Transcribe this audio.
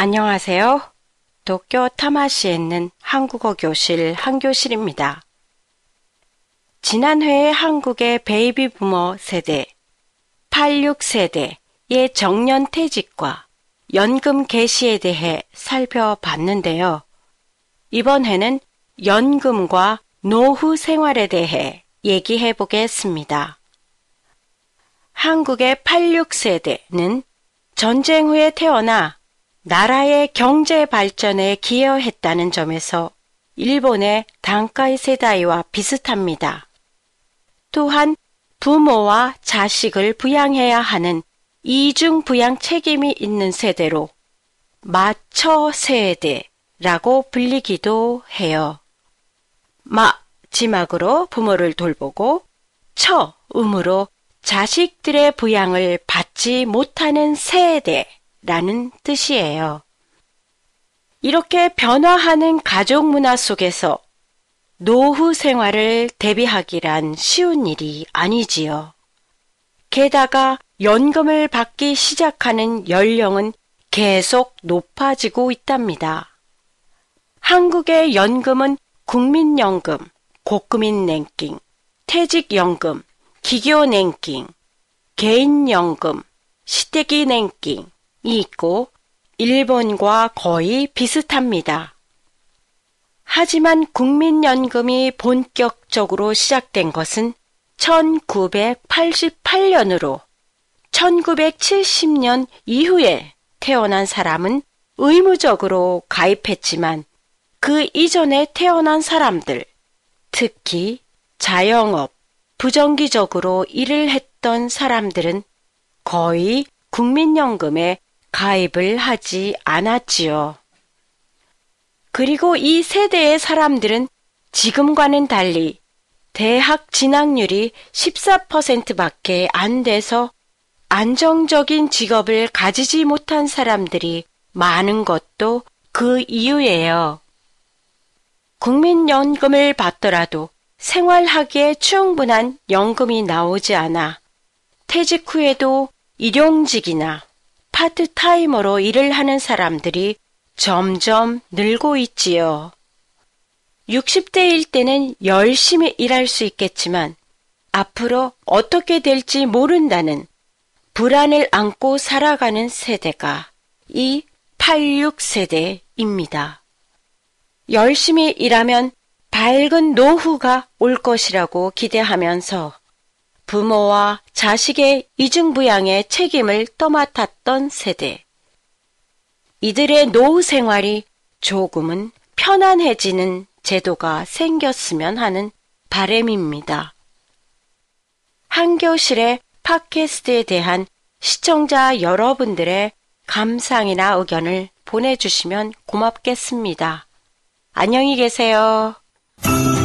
안녕하세요. 도쿄 타마시에 있는 한국어 교실 한교실입니다. 지난 회에 한국의 베이비 부머 세대, 86세대의 정년퇴직과 연금 개시에 대해 살펴봤는데요. 이번 회는 연금과 노후 생활에 대해 얘기해 보겠습니다. 한국의 86세대는 전쟁 후에 태어나 나라의 경제 발전에 기여했다는 점에서 일본의 단카이 세다이와 비슷합니다. 또한 부모와 자식을 부양해야 하는 이중 부양 책임이 있는 세대로 마처 세대라고 불리기도 해요. 마지막으로 부모를 돌보고 처음으로 자식들의 부양을 받지 못하는 세대라는 뜻이에요. 이렇게 변화하는 가족 문화 속에서 노후 생활을 대비하기란 쉬운 일이 아니지요. 게다가 연금을 받기 시작하는 연령은 계속 높아지고 있답니다. 한국의 연금은 국민연금, 고금인연금, 퇴직연금, 기교연금, 개인연금, 시대기연금이 있고 일본과 거의 비슷합니다. 하지만 국민연금이 본격적으로 시작된 것은 1988년으로 1970년 이후에 태어난 사람은 의무적으로 가입했지만 그 이전에 태어난 사람들, 특히 자영업, 부정기적으로 일을 했던 사람들은 거의 국민연금에 가입을 하지 않았지요. 그리고 이 세대의 사람들은 지금과는 달리 대학 진학률이 14%밖에 안 돼서 안정적인 직업을 가지지 못한 사람들이 많은 것도 그 이유예요. 국민연금을 받더라도 생활하기에 충분한 연금이 나오지 않아 퇴직 후에도 일용직이나 파트타이머로 일을 하는 사람들이 점점 늘고 있지요. 60대일 때는 열심히 일할 수 있겠지만 앞으로 어떻게 될지 모른다는 불안을 안고 살아가는 세대가 이 86세대입니다. 열심히 일하면 밝은 노후가 올 것이라고 기대하면서 부모와 자식의 이중부양의 책임을 떠맡았던 세대. 이들의 노후 생활이 조금은 편안해지는 제도가 생겼으면 하는 바람입니다. 한교실의 팟캐스트에 대한 시청자 여러분들의 감상이나 의견을 보내주시면 고맙겠습니다. 안녕히 계세요.